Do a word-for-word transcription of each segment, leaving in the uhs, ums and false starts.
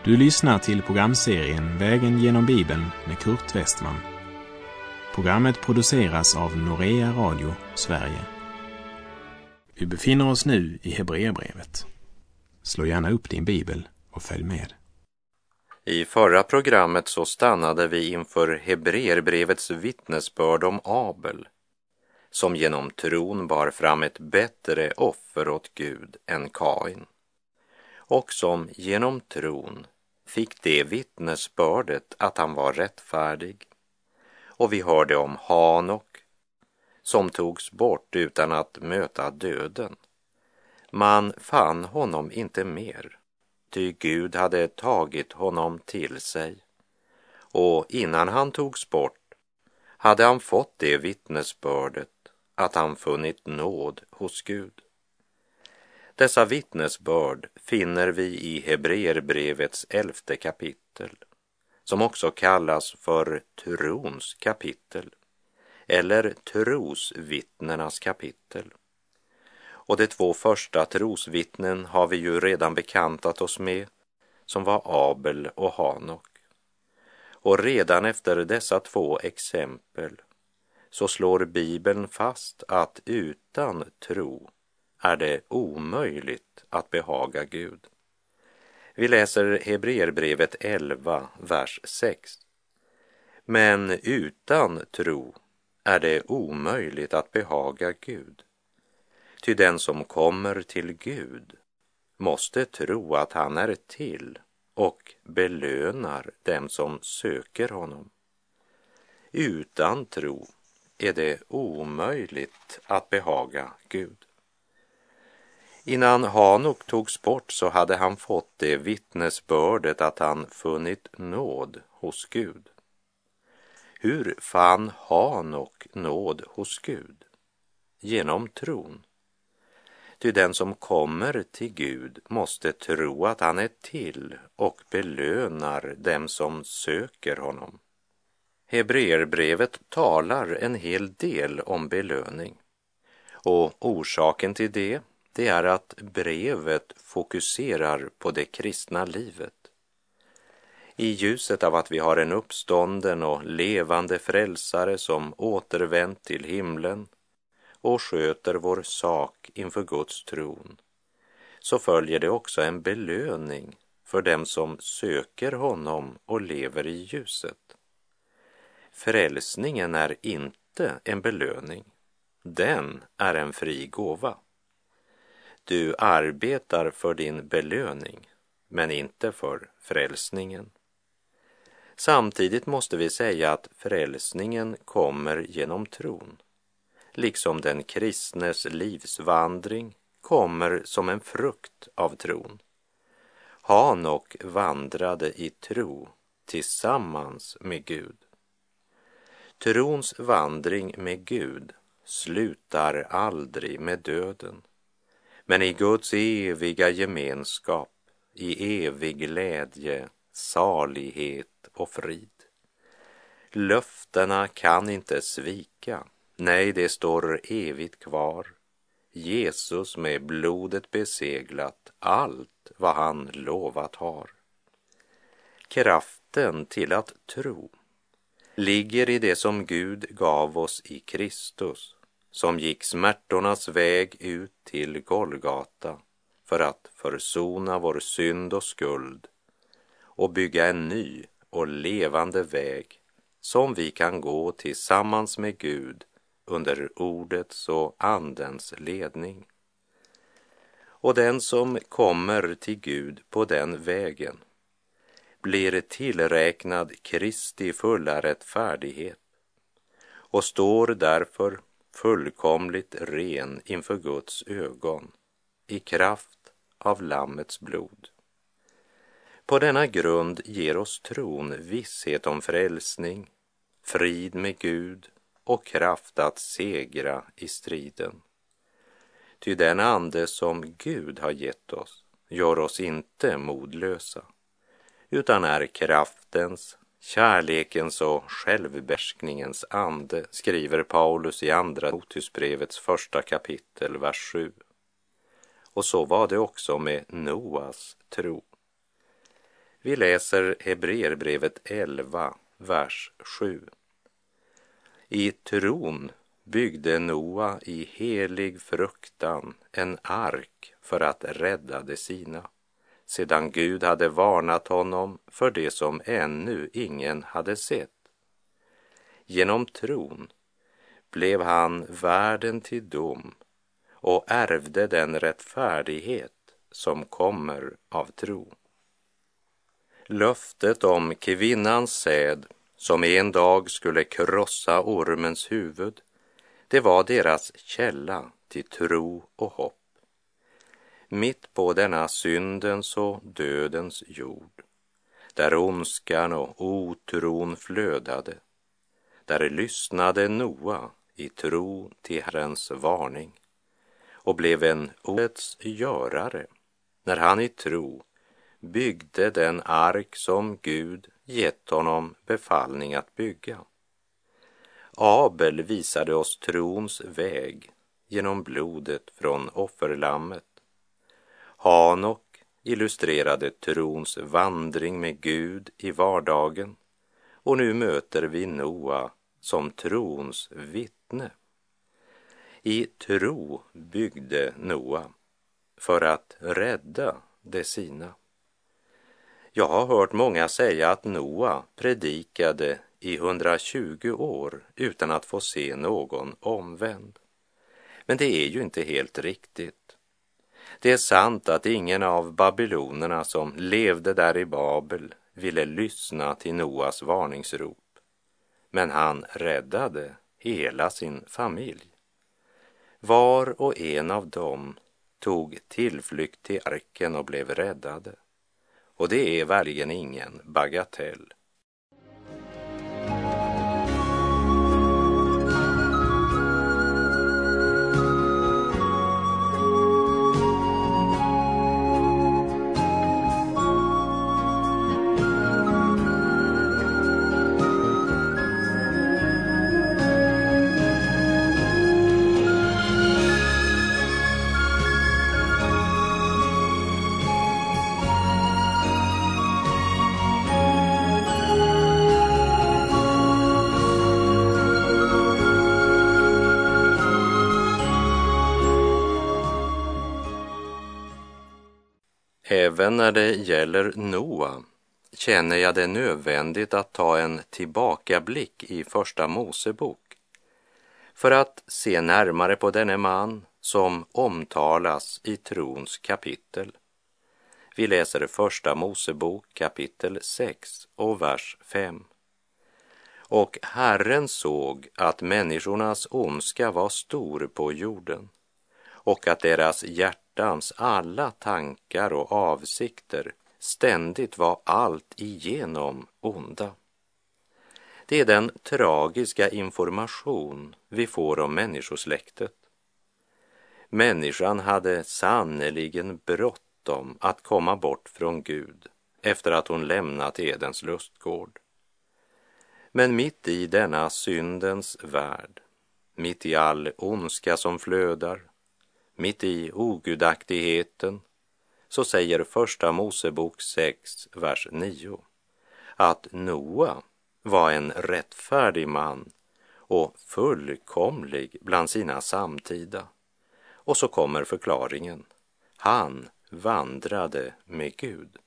Du lyssnar till programserien Vägen genom Bibeln med Kurt Westman. Programmet produceras av Norea Radio, Sverige. Vi befinner oss nu i Hebreerbrevet. Slå gärna upp din bibel och följ med. I förra programmet så stannade vi inför Hebreerbrevets vittnesbörd om Abel, som genom tron bar fram ett bättre offer åt Gud än Kain, och som genom tron fick det vittnesbördet att han var rättfärdig. Och vi hörde om Hanok, som togs bort utan att möta döden. Man fann honom inte mer, ty Gud hade tagit honom till sig. Och innan han togs bort hade han fått det vittnesbördet att han funnit nåd hos Gud. Dessa vittnesbörd finner vi i Hebreerbrevets elfte kapitel, som också kallas för trons kapitel eller trosvittnenas kapitel. Och de två första trosvittnen har vi ju redan bekantat oss med, som var Abel och Hanok. Och redan efter dessa två exempel så slår Bibeln fast att utan tro är det omöjligt att behaga Gud. Vi läser Hebreerbrevet elva, vers sex. Men utan tro är det omöjligt att behaga Gud. Ty den som kommer till Gud måste tro att han är till och belönar dem som söker honom. Utan tro är det omöjligt att behaga Gud. Innan Hanok togs bort så hade han fått det vittnesbördet att han funnit nåd hos Gud. Hur fann Hanok nåd hos Gud? Genom tron. Ty den som kommer till Gud måste tro att han är till och belönar dem som söker honom. Hebreerbrevet talar en hel del om belöning. Och orsaken till det, det är att brevet fokuserar på det kristna livet. I ljuset av att vi har en uppstånden och levande frälsare som återvänt till himlen och sköter vår sak inför Guds tron, så följer det också en belöning för dem som söker honom och lever i ljuset. Frälsningen är inte en belöning, den är en fri gåva. Du arbetar för din belöning, men inte för frälsningen. Samtidigt måste vi säga att frälsningen kommer genom tron, liksom den kristnes livsvandring kommer som en frukt av tron. Hanok vandrade i tro tillsammans med Gud. Trons vandring med Gud slutar aldrig med döden, men i Guds eviga gemenskap, i evig glädje, salighet och frid. Löftena kan inte svika, nej, det står evigt kvar. Jesus med blodet beseglat allt vad han lovat har. Kraften till att tro ligger i det som Gud gav oss i Kristus, som gick smärtornas väg ut till Golgata för att försona vår synd och skuld och bygga en ny och levande väg som vi kan gå tillsammans med Gud under ordets och andens ledning. Och den som kommer till Gud på den vägen blir tillräknad Kristi fulla rättfärdighet och står därför fullkomligt ren inför Guds ögon i kraft av Lammets blod. På denna grund ger oss tron visshet om frälsning, frid med Gud och kraft att segra i striden. Ty den ande som Gud har gett oss gör oss inte modlösa, utan är kraftens, kärlekens och självbehärskningens ande, skriver Paulus i andra Timoteusbrevets första kapitel, vers sju. Och så var det också med Noas tro. Vi läser Hebreerbrevet elva, vers sju. I tron byggde Noa i helig fruktan en ark för att rädda de sina, sedan Gud hade varnat honom för det som ännu ingen hade sett. Genom tron blev han värden till dom och ärvde den rättfärdighet som kommer av tro. Löftet om kvinnans säd som en dag skulle krossa ormens huvud, det var deras källa till tro och hopp. Mitt på denna syndens och dödens jord, där ondskan och otron flödade, där lyssnade Noa i tro till Herrens varning och blev en ordets görare när han i tro byggde den ark som Gud gett honom befallning att bygga. Abel visade oss trons väg genom blodet från offerlammet. Hanok illustrerade trons vandring med Gud i vardagen, och nu möter vi Noa som trons vittne. I tro byggde Noa för att rädda de sina. Jag har hört många säga att Noa predikade i hundratjugo år utan att få se någon omvänd. Men det är ju inte helt riktigt. Det är sant att ingen av babylonerna som levde där i Babel ville lyssna till Noas varningsrop. Men han räddade hela sin familj. Var och en av dem tog tillflykt till arken och blev räddade. Och det är verkligen ingen bagatell. Även när det gäller Noa känner jag det nödvändigt att ta en tillbakablick i Första Mosebok för att se närmare på denne man som omtalas i trons kapitel. Vi läser Första Mosebok kapitel sex och vers fem. Och Herren såg att människornas ondska var stor på jorden och att deras hjärtans alla tankar och avsikter ständigt var allt igenom onda. Det är den tragiska information vi får om människosläktet. Människan hade sannoliken bråttom att komma bort från Gud efter att hon lämnat Edens lustgård. Men mitt i denna syndens värld, mitt i all ondska som flödar, mitt i ogudaktigheten, så säger Första Mosebok sex, vers nio, att Noa var en rättfärdig man och fullkomlig bland sina samtida. Och så kommer förklaringen. Han vandrade med Gud.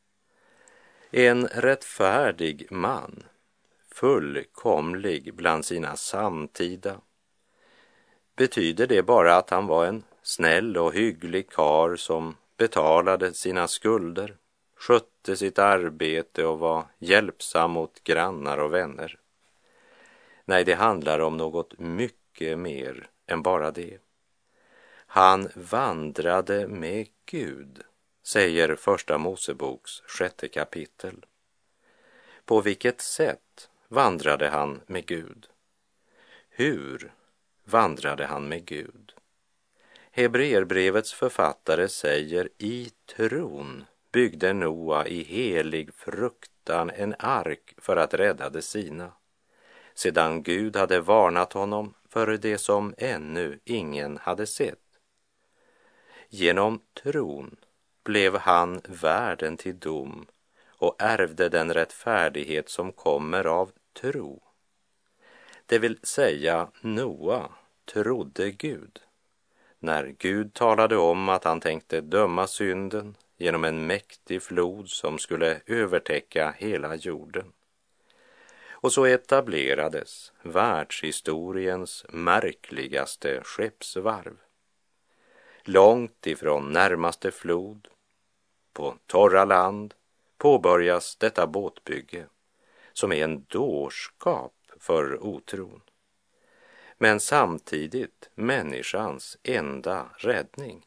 En rättfärdig man, fullkomlig bland sina samtida. Betyder det bara att han var en snäll och hygglig karl som betalade sina skulder, skötte sitt arbete och var hjälpsam mot grannar och vänner? Nej, det handlar om något mycket mer än bara det. Han vandrade med Gud, säger Första Moseboks sjätte kapitel. På vilket sätt vandrade han med Gud? Hur vandrade han med Gud? Hebreerbrevets författare säger: i tron byggde Noa i helig fruktan en ark för att rädda de sina, sedan Gud hade varnat honom för det som ännu ingen hade sett. Genom tron blev han värden till dom och ärvde den rättfärdighet som kommer av tro. Det vill säga, Noa trodde Gud. När Gud talade om att han tänkte döma synden genom en mäktig flod som skulle övertäcka hela jorden. Och så etablerades världshistoriens märkligaste skeppsvarv. Långt ifrån närmaste flod, på torra land, påbörjas detta båtbygge som är en dårskap för otron. Men samtidigt människans enda räddning.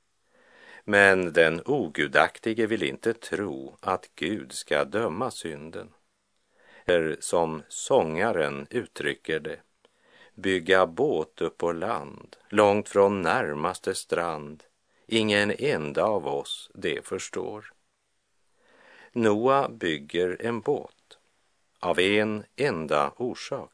Men den ogudaktige vill inte tro att Gud ska döma synden. Eller som sångaren uttrycker det, bygga båt upp på land, långt från närmaste strand. Ingen enda av oss det förstår. Noa bygger en båt av en enda orsak.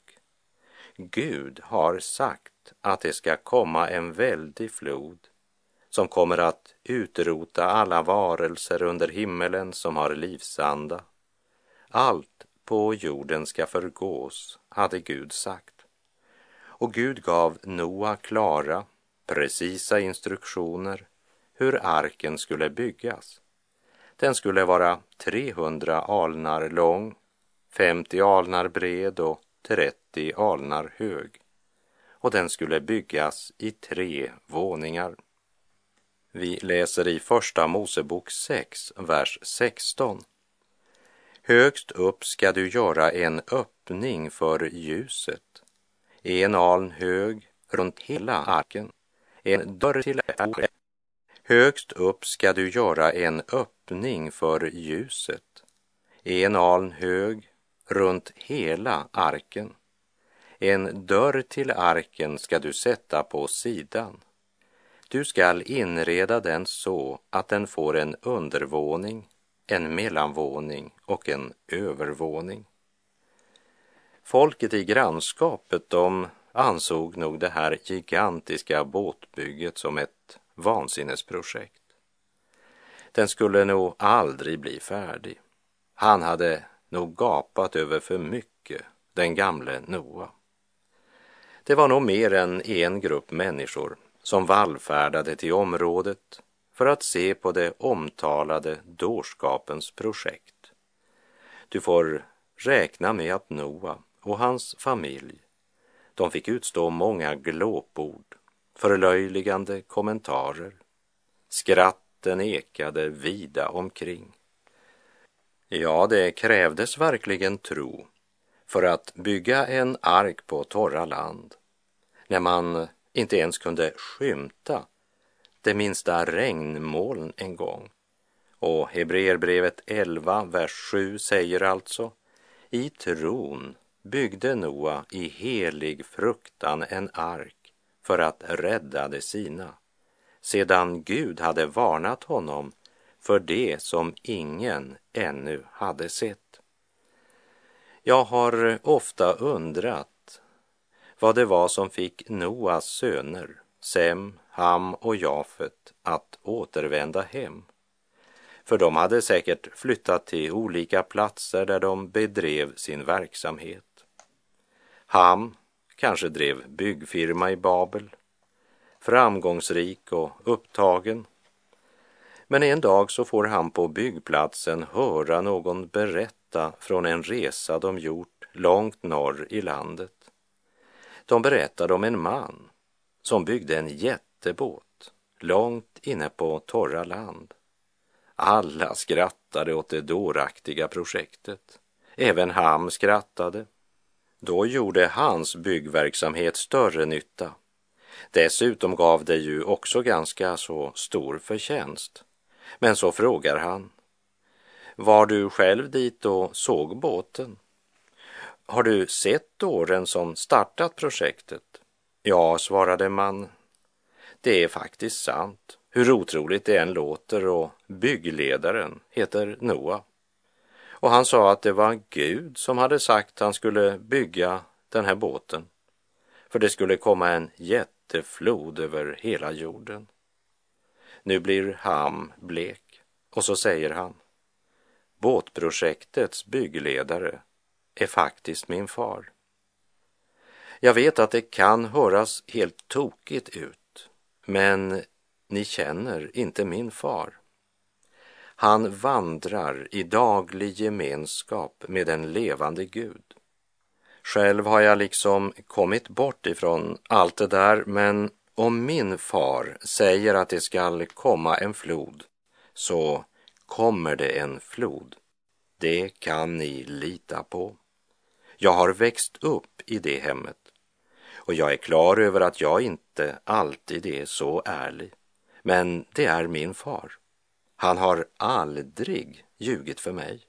Gud har sagt att det ska komma en väldig flod som kommer att utrota alla varelser under himmelen som har livsanda. Allt på jorden ska förgås, hade Gud sagt. Och Gud gav Noa klara, precisa instruktioner hur arken skulle byggas. Den skulle vara trehundra alnar lång, femtio alnar bred och trettio alnar hög. Och den skulle byggas i tre våningar. Vi läser i första Mosebok sex, vers sexton. Högst upp ska du göra en öppning för ljuset, en aln hög runt hela arken, en dörr till arken. Högst upp ska du göra en öppning för ljuset, en aln hög runt hela arken. En dörr till arken ska du sätta på sidan. Du skall inreda den så att den får en undervåning, en mellanvåning och en övervåning. Folket i grannskapet, de ansåg nog det här gigantiska båtbygget som ett vansinnesprojekt. Den skulle nog aldrig bli färdig. Han hade nog gapat över för mycket, den gamle Noa. Det var nog mer än en grupp människor som vallfärdade till området för att se på det omtalade dårskapens projekt. Du får räkna med att Noa och hans familj, de fick utstå många glåpord, förlöjligande kommentarer. Skratten ekade vida omkring. Ja, det krävdes verkligen tro för att bygga en ark på torra land, när man inte ens kunde skymta det minsta regnmoln en gång. Och Hebreerbrevet elva, vers sju säger alltså: i tron byggde Noa i helig fruktan en ark för att rädda de sina, sedan Gud hade varnat honom för det som ingen ännu hade sett. Jag har ofta undrat vad det var som fick Noas söner, Sem, Ham och Jafet, att återvända hem. För de hade säkert flyttat till olika platser där de bedrev sin verksamhet. Ham kanske drev byggfirma i Babel, framgångsrik och upptagen. Men en dag så får han på byggplatsen höra någon berätta från en resa de gjort långt norr i landet. De berättade om en man som byggde en jättebåt långt inne på torra land. Alla skrattade åt det dåraktiga projektet. Även Ham skrattade. Då gjorde hans byggverksamhet större nytta. Dessutom gav det ju också ganska så stor förtjänst. Men så frågar han: var du själv dit och såg båten? Har du sett åren som startat projektet? Ja, svarade man. Det är faktiskt sant, hur otroligt det än låter, och byggledaren heter Noa. Och han sa att det var Gud som hade sagt att han skulle bygga den här båten. För det skulle komma en jätteflod över hela jorden. Nu blir Ham blek och så säger han: båtprojektets byggledare, är faktiskt min far. Jag vet att det kan höras helt tokigt ut, men ni känner inte min far. Han vandrar i daglig gemenskap med den levande Gud. Själv har jag liksom kommit bort ifrån allt det där, men om min far säger att det ska komma en flod, så kommer det en flod. Det kan ni lita på. Jag har växt upp i det hemmet, och jag är klar över att jag inte alltid är så ärlig. Men det är min far. Han har aldrig ljugit för mig.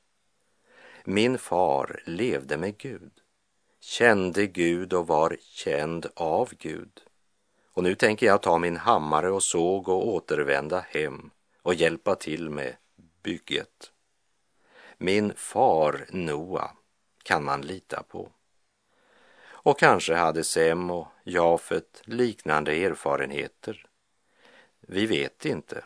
Min far levde med Gud, kände Gud och var känd av Gud. Och nu tänker jag ta min hammare och såg och återvända hem och hjälpa till med bygget. Min far Noa kan man lita på. Och kanske hade Sem och Jafet liknande erfarenheter. Vi vet inte.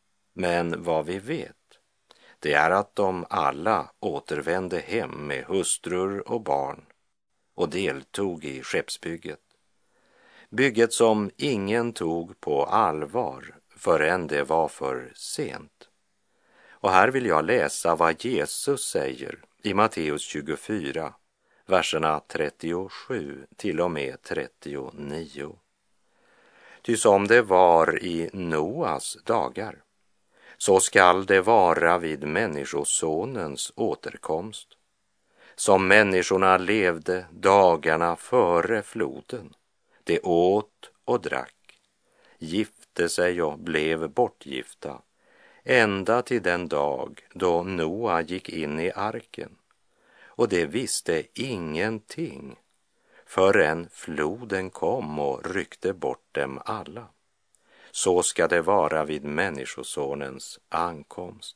Men vad vi vet, det är att de alla återvände hem med hustrur och barn och deltog i skeppsbygget. Bygget som ingen tog på allvar förrän det var för sent. Och här vill jag läsa vad Jesus säger i Matteus tjugofyra, verserna trettiosju till och med trettionio. Ty som det var i Noas dagar, så skall det vara vid människosonens återkomst. Som människorna levde dagarna före floden, de åt och drack, gifte sig och blev bortgifta, ända till den dag då Noa gick in i arken. Och det visste ingenting förrän floden kom och ryckte bort dem alla. Så ska det vara vid människosonens ankomst.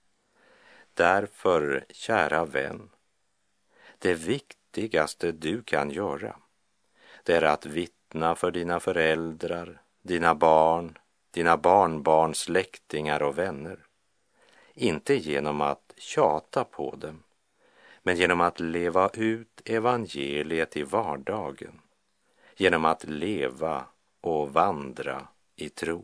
Därför, kära vän, det viktigaste du kan göra, det är att vittna för dina föräldrar, dina barn, dina barnbarns släktingar och vänner. Inte genom att tjata på dem, men genom att leva ut evangeliet i vardagen, genom att leva och vandra i tro.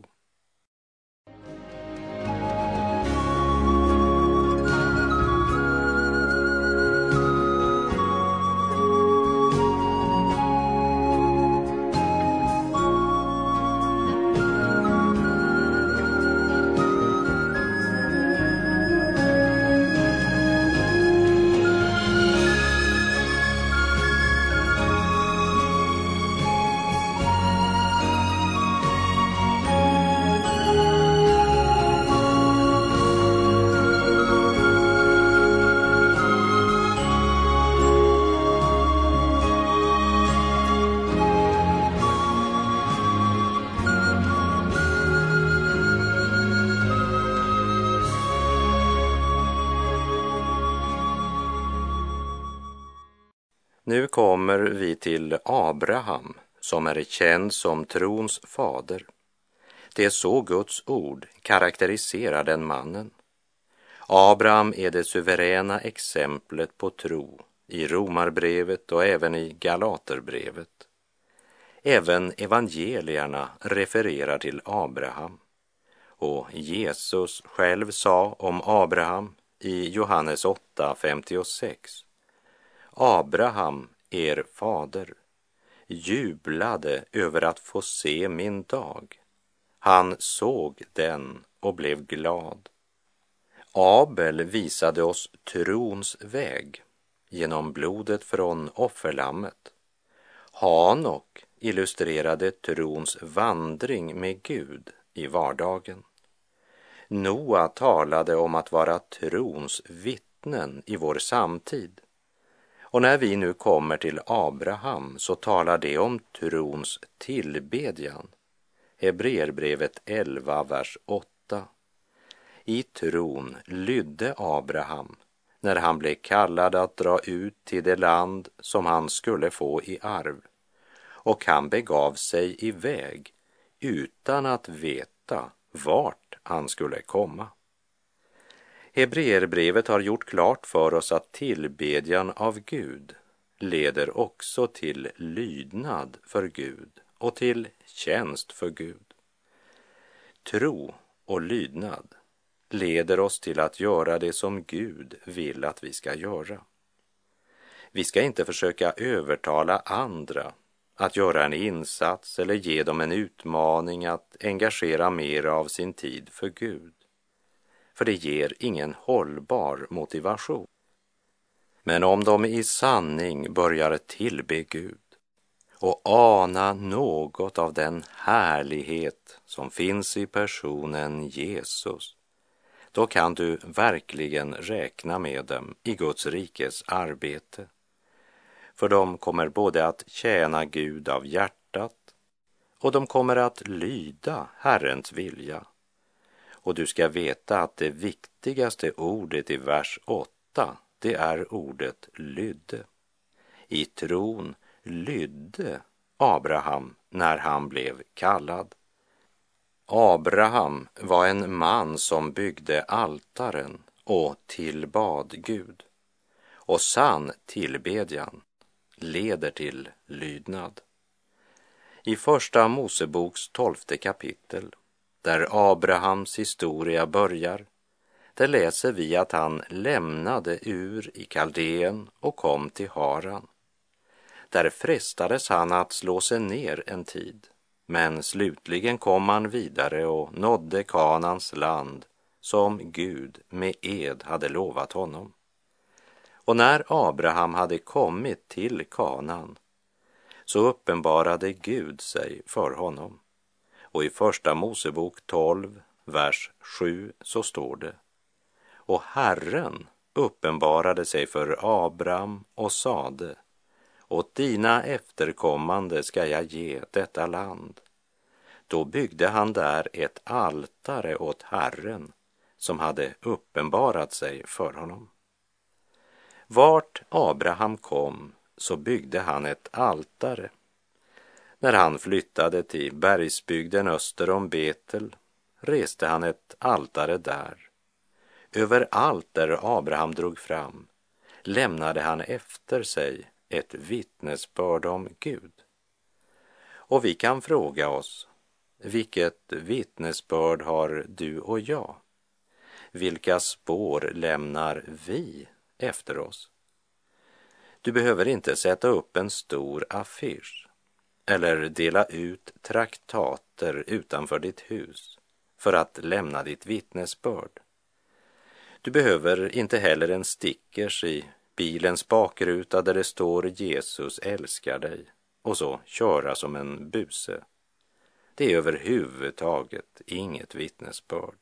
Nu kommer vi till Abraham, som är känd som trons fader. Det är så Guds ord karaktäriserar den mannen. Abraham är det suveräna exemplet på tro i Romarbrevet och även i Galaterbrevet. Även evangelierna refererar till Abraham. Och Jesus själv sa om Abraham i Johannes åtta femtiosex: Abraham, er fader, jublade över att få se min dag. Han såg den och blev glad. Abel visade oss trons väg genom blodet från offerlammet. Hanok illustrerade trons vandring med Gud i vardagen. Noa talade om att vara trons vittnen i vår samtid. Och när vi nu kommer till Abraham så talar det om trons tillbedjan. Hebreerbrevet elva, vers åtta. I tron lydde Abraham när han blev kallad att dra ut till det land som han skulle få i arv. Och han begav sig iväg utan att veta vart han skulle komma. Hebreerbrevet har gjort klart för oss att tillbedjan av Gud leder också till lydnad för Gud och till tjänst för Gud. Tro och lydnad leder oss till att göra det som Gud vill att vi ska göra. Vi ska inte försöka övertala andra att göra en insats eller ge dem en utmaning att engagera mer av sin tid för Gud. För det ger ingen hållbar motivation. Men om de i sanning börjar tillbe Gud och ana något av den härlighet som finns i personen Jesus, då kan du verkligen räkna med dem i Guds rikes arbete. För de kommer både att tjäna Gud av hjärtat och de kommer att lyda Herrens vilja. Och du ska veta att det viktigaste ordet i vers åtta, det är ordet lydde. I tron lydde Abraham när han blev kallad. Abraham var en man som byggde altaren och tillbad Gud. Och sann tillbedjan leder till lydnad. I första Moseboks tolfte kapitel, där Abrahams historia börjar, där läser vi att han lämnade Ur i Kaldeen och kom till Haran. Där frestades han att slå sig ner en tid, men slutligen kom han vidare och nådde Kanans land som Gud med ed hade lovat honom. Och när Abraham hade kommit till Kanan så uppenbarade Gud sig för honom. Och i första Mosebok tolv, vers sju så står det: och Herren uppenbarade sig för Abraham och sade: åt dina efterkommande ska jag ge detta land. Då byggde han där ett altare åt Herren som hade uppenbarat sig för honom. Vart Abraham kom så byggde han ett altare. När han flyttade till bergsbygden öster om Betel reste han ett altare där. Överallt där Abraham drog fram lämnade han efter sig ett vittnesbörd om Gud. Och vi kan fråga oss, vilket vittnesbörd har du och jag? Vilka spår lämnar vi efter oss? Du behöver inte sätta upp en stor affisch eller dela ut traktater utanför ditt hus för att lämna ditt vittnesbörd. Du behöver inte heller en stickers i bilens bakruta där det står Jesus älskar dig och så köra som en buse. Det är överhuvudtaget inget vittnesbörd.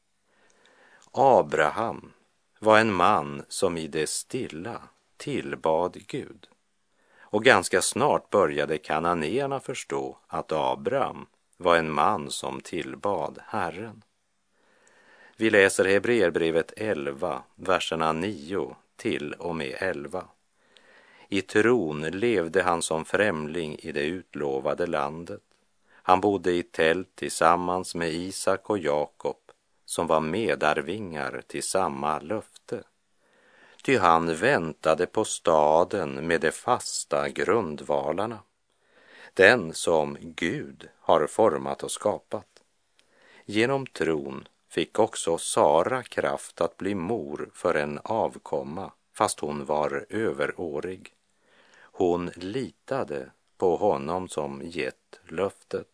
Abraham var en man som i det stilla tillbad Gud. Och ganska snart började kananéerna förstå att Abraham var en man som tillbad Herren. Vi läser Hebreerbrevet elva, verserna nio till och med elva. I tron levde han som främling i det utlovade landet. Han bodde i tält tillsammans med Isak och Jakob, som var medarvingar till samma löfte. Ty han väntade på staden med de fasta grundvalarna, den som Gud har format och skapat. Genom tron fick också Sara kraft att bli mor för en avkomma, fast hon var överårig. Hon litade på honom som gett löftet.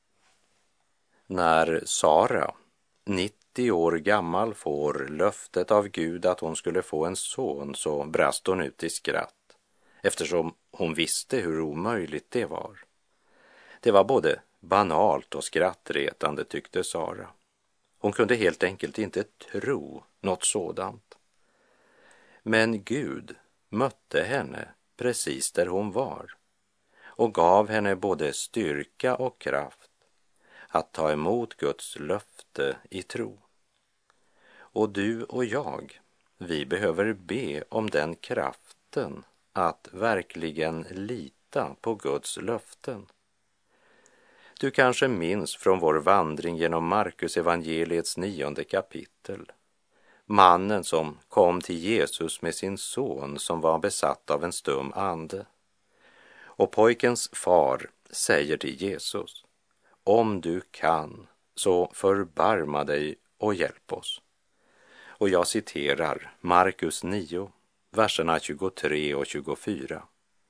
När Sara, nittio år gammal, får löftet av Gud att hon skulle få en son, så brast hon ut i skratt, eftersom hon visste hur omöjligt det var. Det var både banalt och skrattretande, tyckte Sara. Hon kunde helt enkelt inte tro något sådant. Men Gud mötte henne precis där hon var och gav henne både styrka och kraft att ta emot Guds löfte i tro. Och du och jag, vi behöver be om den kraften att verkligen lita på Guds löften. Du kanske minns från vår vandring genom Markus evangeliets nionde kapitel, mannen som kom till Jesus med sin son som var besatt av en stum ande. Och pojkens far säger till Jesus: om du kan, så förbarma dig och hjälp oss. Och jag citerar Markus nio, verserna tjugotre och tjugofyra.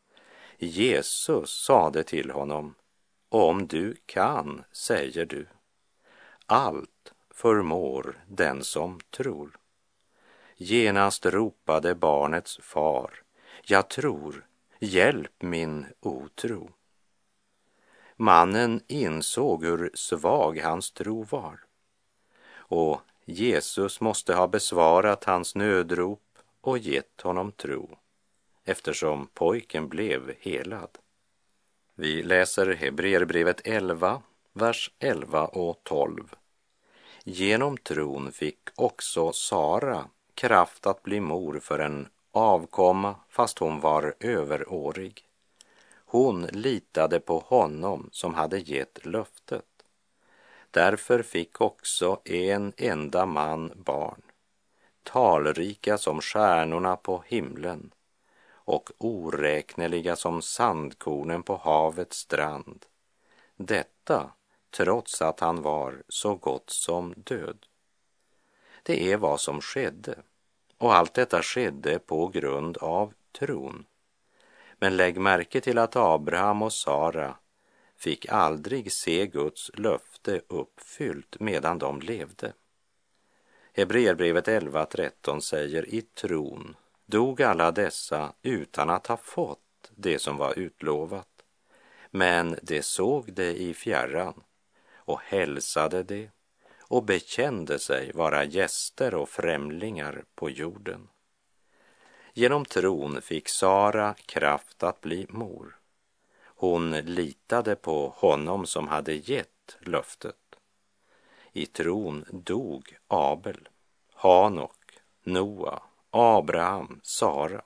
Jesus sade till honom: om du kan, säger du. Allt förmår den som tror. Genast ropade barnets far: jag tror, hjälp min otro. Mannen insåg hur svag hans tro var, och Jesus måste ha besvarat hans nödrop och gett honom tro, eftersom pojken blev helad. Vi läser Hebreerbrevet elva, vers elva och tolv. Genom tron fick också Sara kraft att bli mor för en avkomma fast hon var överårig. Hon litade på honom som hade gett löftet. Därför fick också en enda man barn, talrika som stjärnorna på himlen och oräkneliga som sandkornen på havets strand. Detta trots att han var så gott som död. Det är vad som skedde, och allt detta skedde på grund av tron. Men lägg märke till att Abraham och Sara fick aldrig se Guds löfte uppfyllt medan de levde. Hebreerbrevet elva tretton säger: i tron dog alla dessa utan att ha fått det som var utlovat, men de såg det i fjärran och hälsade det och bekände sig vara gäster och främlingar på jorden. Genom tron fick Sara kraft att bli mor. Hon litade på honom som hade gett löftet. I tron dog Abel, Hanok, Noa, Abraham, Sara.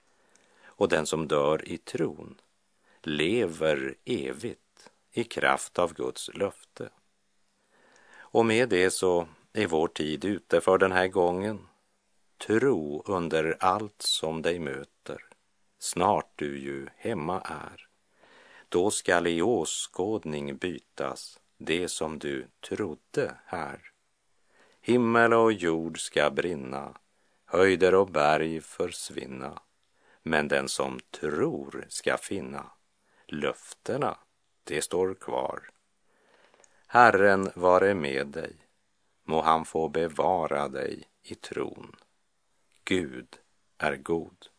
Och den som dör i tron lever evigt i kraft av Guds löfte. Och med det så är vår tid ute för den här gången. Tro under allt som dig möter, snart du ju hemma är. Då skall i åskådning bytas det som du trodde här. Himmel och jord ska brinna, höjder och berg försvinna, men den som tror ska finna löftena, det står kvar. Herren vare med dig, må han få bevara dig i tron. Gud är god.